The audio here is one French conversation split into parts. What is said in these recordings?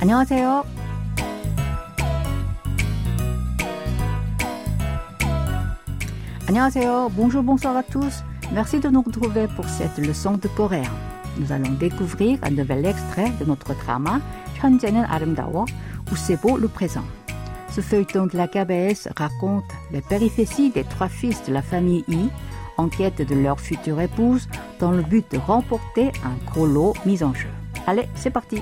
안녕하세요. 안녕하세요. Bonjour, bonsoir à tous. Merci de nous retrouver pour cette leçon de coréen. Nous allons découvrir un nouvel extrait de notre drama 현재는 아름다워 où c'est beau le présent. Ce feuilleton de la KBS raconte les péripéties des trois fils de la famille Yi en quête de leur future épouse dans le but de remporter un gros lot mis en jeu. Allez, c'est parti!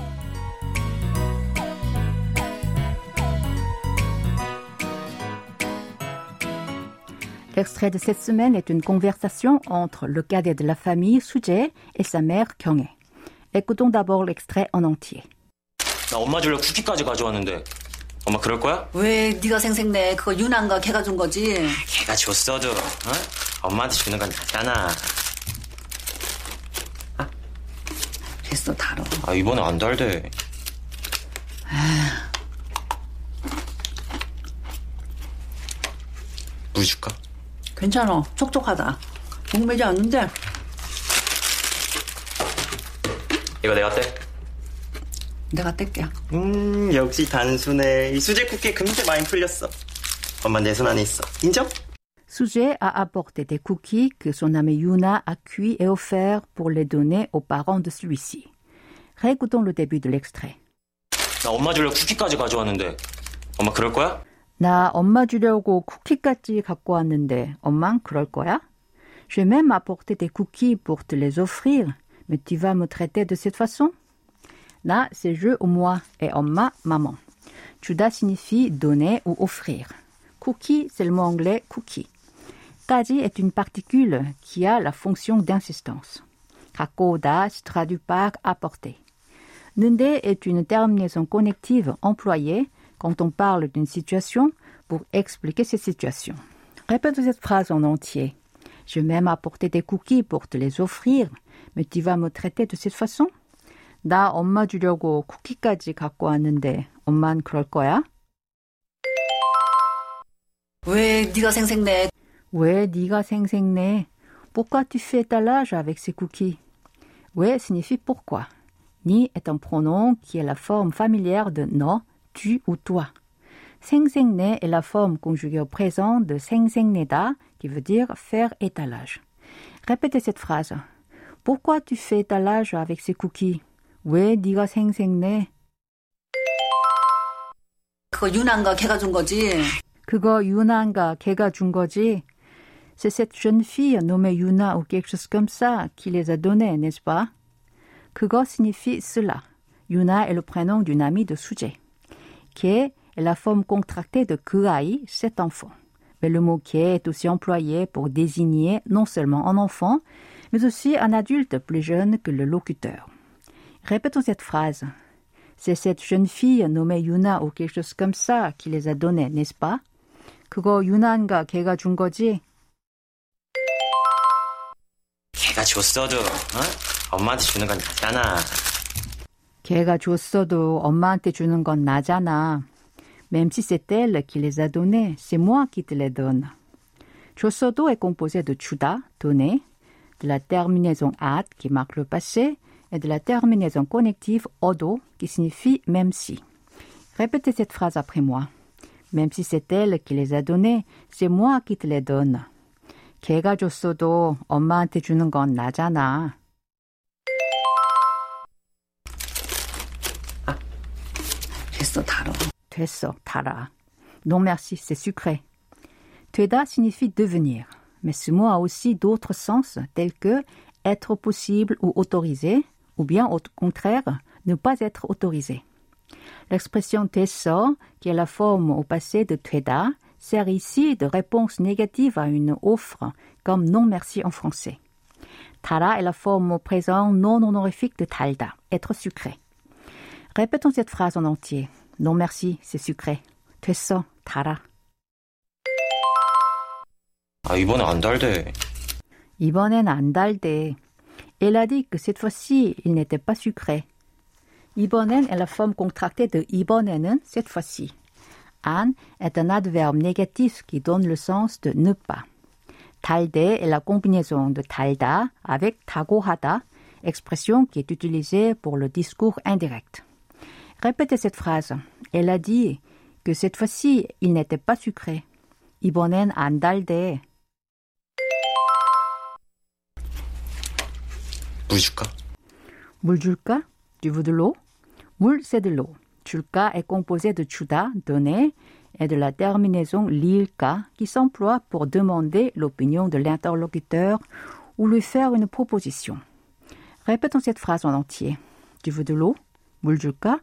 L'extrait de cette semaine est une conversation entre le cadet de la famille Soo-jae et sa mère Kyung-hae. Écoutons d'abord l'extrait en entier. 나 엄마 주려고 쿠키까지 가져왔는데 엄마 그럴 거야? 왜 네가 생색내? 그거 유난가 걔가 준 거지? 걔가 줬어도 엄마한테 주는 건 낫잖아. 됐어, 다뤄. 이번에 안 달대. 물 줄까? 괜찮아, 촉촉하다. 목매지 않는데? 이거 내가 떼. 내가 뗄게. 역시 단순해. 이 수제 쿠키에 금세 많이 풀렸어. 엄마 내 손 안에 있어. 인정? Soo-jae a apporté des cookies que son amie Yuna a cuits et offerts pour les donner aux parents de celui-ci. Réécoutons le début de l'extrait. 나 엄마 주려고 쿠키까지 가져왔는데 엄마 그럴 거야? 나 엄마 주려고 쿠키까지 갖고 왔는데 엄만 그럴 거야? J'ai même apporté des cookies pour te les offrir, mais tu vas me traiter de cette façon? 나, c'est je ou moi, et 엄마, maman. 주다 signifie donner ou offrir. Cookie, c'est le mot anglais cookie. 까지 est une particule qui a la fonction d'insistance. 갖고 오다 se traduit par apporter. 는데 est une terminaison connective employée quand on parle d'une situation pour expliquer cette situation. Répète cette phrase en entier. Je vais même apporter des cookies pour te les offrir, mais tu vas me traiter de cette façon? 나 엄마 주려고 쿠키까지 갖고 왔는데 엄만 그럴 거야? 왜 네가 생색내? 왜 네가 생색내? Pourquoi tu fais étalage avec ces cookies? 왜 signifie pourquoi. Ni est un pronom qui est la forme familière de no, tu ou toi. 생색내 est la forme conjuguée au présent de 생색내다 qui veut dire faire étalage. Répétez cette phrase. Pourquoi tu fais étalage avec ces cookies? 왜 네가 생색내? 그거 유난가 걔가 준 거지? 그거 유나인가 걔가 준 거지? C'est cette jeune fille nommée Yuna ou quelque chose comme ça qui les a donnés, n'est-ce pas? 그거 signifie cela. Yuna est le prénom d'une amie de Soo-jae. 걔 est la forme contractée de 그 아이, cet enfant. Mais le mot 걔 est aussi employé pour désigner non seulement un enfant, mais aussi un adulte plus jeune que le locuteur. Répétons cette phrase. C'est cette jeune fille nommée Yuna ou quelque chose comme ça qui les a donnés, n'est-ce pas? 그거 유나인가 걔가 준 거지? 걔가 줬어도 엄마한테 주는 건 낫잖아. 걔가 줬어도 엄마한테 주는 건 나잖아. Même si c'est elle qui les a donnés, c'est moi qui te les donne. 줬어도 est composé de 주다, donner, de la terminaison at qui marque le passé et de la terminaison connective odo qui signifie même si. Répétez cette phrase après moi. Même si c'est elle qui les a donnés, c'est moi qui te les donne. 걔가 줬어도 엄마한테 주는 건 나잖아. 됐어, 다뤄. 됐어, 달아. Non merci, c'est sucré. 되다 signifie devenir, mais ce mot a aussi d'autres sens tels que être possible ou autorisé, ou bien au contraire, ne pas être autorisé. L'expression 됐어, qui est la forme au passé de 되다, sert ici de réponse négative à une offre, comme non merci en français. 달아 est la forme au présent non honorifique de 달다, être sucré. Répétons cette phrase en entier. Non merci, c'est sucré. 됐어, 달아. 이번에 안 달대. 이번엔 안 달대. Elle a dit que cette fois-ci, il n'était pas sucré. 이번엔 est la forme contractée de 이번에는, cette fois-ci. 안 est un adverbe négatif qui donne le sens de ne pas. 달대 est la combinaison de 달다 avec 다고 하다, expression qui est utilisée pour le discours indirect. Répétez cette phrase. Elle a dit que cette fois-ci, il n'était pas sucré. 이번엔 안 달대. 물 줄까? 물 줄까? Tu veux de l'eau? 물, c'est de l'eau. 줄까 est composé de 주다, donner, et de la terminaison lil까 qui s'emploie pour demander l'opinion de l'interlocuteur ou lui faire une proposition. Répétons cette phrase en entier. Tu veux de l'eau? 물 줄까?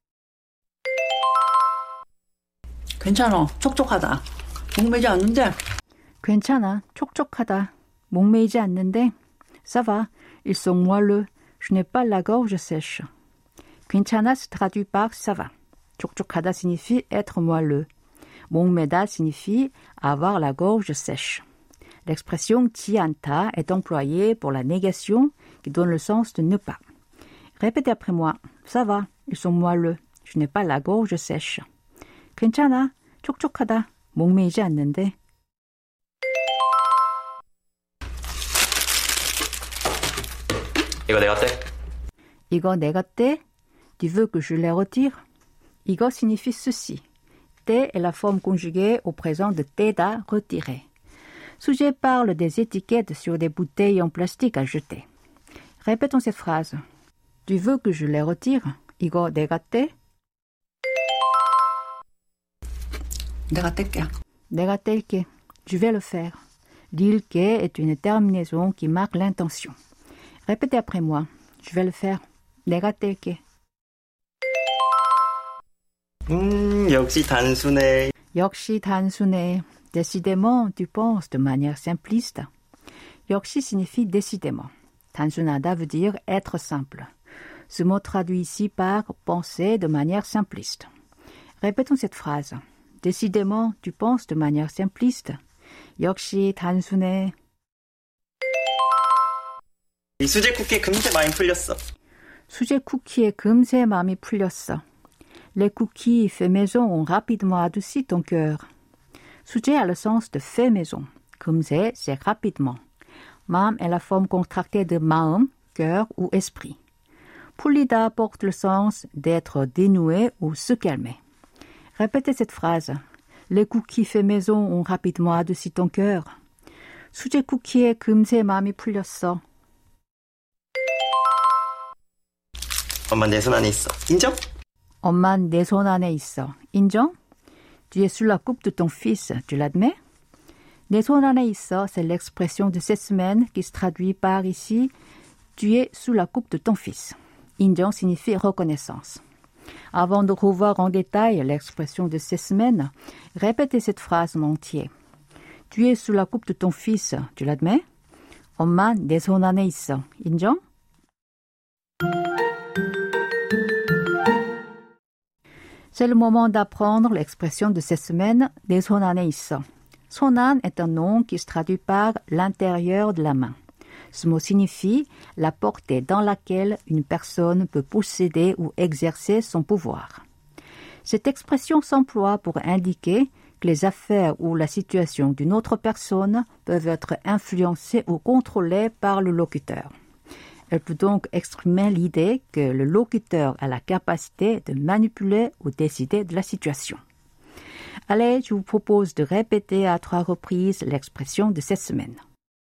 괜찮아. 촉촉하다. 목매지 않는데. 괜찮아. 촉촉하다. 목매이지 않는데. Ça va. Ils sont moelleux. Je n'ai pas la gorge sèche. 괜찮아 se traduit par ça va. 촉촉하다 signifie être moelleux. 목매다 signifie avoir la gorge sèche. L'expression 지 않다 est employée pour la négation qui donne le sens de ne pas. Répétez après moi. Ça va. Ils sont moelleux. Je n'ai pas la gorge sèche. 괜찮아. 촉촉하다. 목매이지 않는데. 이거 내가 떼? 이거 내가 떼? Tu veux que je les retire? 이거 signifie ceci. 떼 est la forme conjuguée au présent de 떼다, retirer. Sujet parle des étiquettes sur des bouteilles en plastique à jeter. Répétons cette phrase. Tu veux que je les retire? 이거 내가 떼? 내가 뗄게. 내가 뗄게. Je vais le faire. 릴게 est une terminaison qui marque l'intention. Répétez après moi. Je vais le faire. 내가 뗄게. 역시 단순해. 역시 단순해. Décidément, tu penses de manière simpliste. 역시 signifie décidément. 단순하다 veut dire être simple. Ce mot traduit ici par penser de manière simpliste. Répétons cette phrase. Décidément, tu penses de manière simpliste. 역시 단순해. 이 수제 쿠키 금세 많이 풀렸어. 수제 쿠키에 금세 마음이 풀렸어. Les cookies faits maison ont rapidement adouci ton cœur. 수제 a le sens de fait maison. 금세, c'est rapidement. 마음 est la forme contractée de 마음, cœur ou esprit. 풀리다 porte le sens d'être dénoué ou se calmer. Répétez cette phrase. Les cookies faits maison ont rapidement adouci ton cœur. 수제 쿠키에 금세 마음이 풀렸어. 엄마 내 손 안에 있어. 인정? 엄만 내 손 안에 있어. 인정? Tu es sous la coupe de ton fils. Tu l'admets? 내 손 안에 있어, c'est l'expression de cette semaine qui se traduit par ici. Tu es sous la coupe de ton fils. 인정 signifie reconnaissance. Avant de revoir en détail l'expression de ces semaines, répétez cette phrase en entier. Tu es sous la coupe de ton fils. Tu l'admets? 엄마 내 손 안에 있어. 인정? C'est le moment d'apprendre l'expression de cette semaine, 내 손 안에 있어. 손 안 est un nom qui se traduit par l'intérieur de la main. Ce mot signifie la portée dans laquelle une personne peut posséder ou exercer son pouvoir. Cette expression s'emploie pour indiquer que les affaires ou la situation d'une autre personne peuvent être influencées ou contrôlées par le locuteur. Elle peut donc exprimer l'idée que le locuteur a la capacité de manipuler ou décider de la situation. Allez, je vous propose de répéter à 3 reprises l'expression de cette semaine.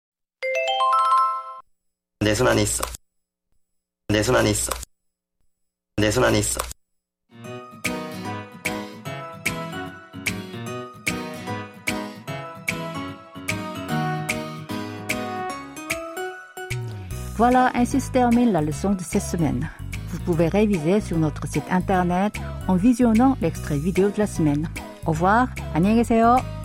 내 손 안에 있어. 내 손 안에 있어. 내 손 안에 있어. Voilà, ainsi se termine la leçon de cette semaine. Vous pouvez réviser sur notre site internet en visionnant l'extrait vidéo de la semaine. Au revoir, 안녕히 계세요.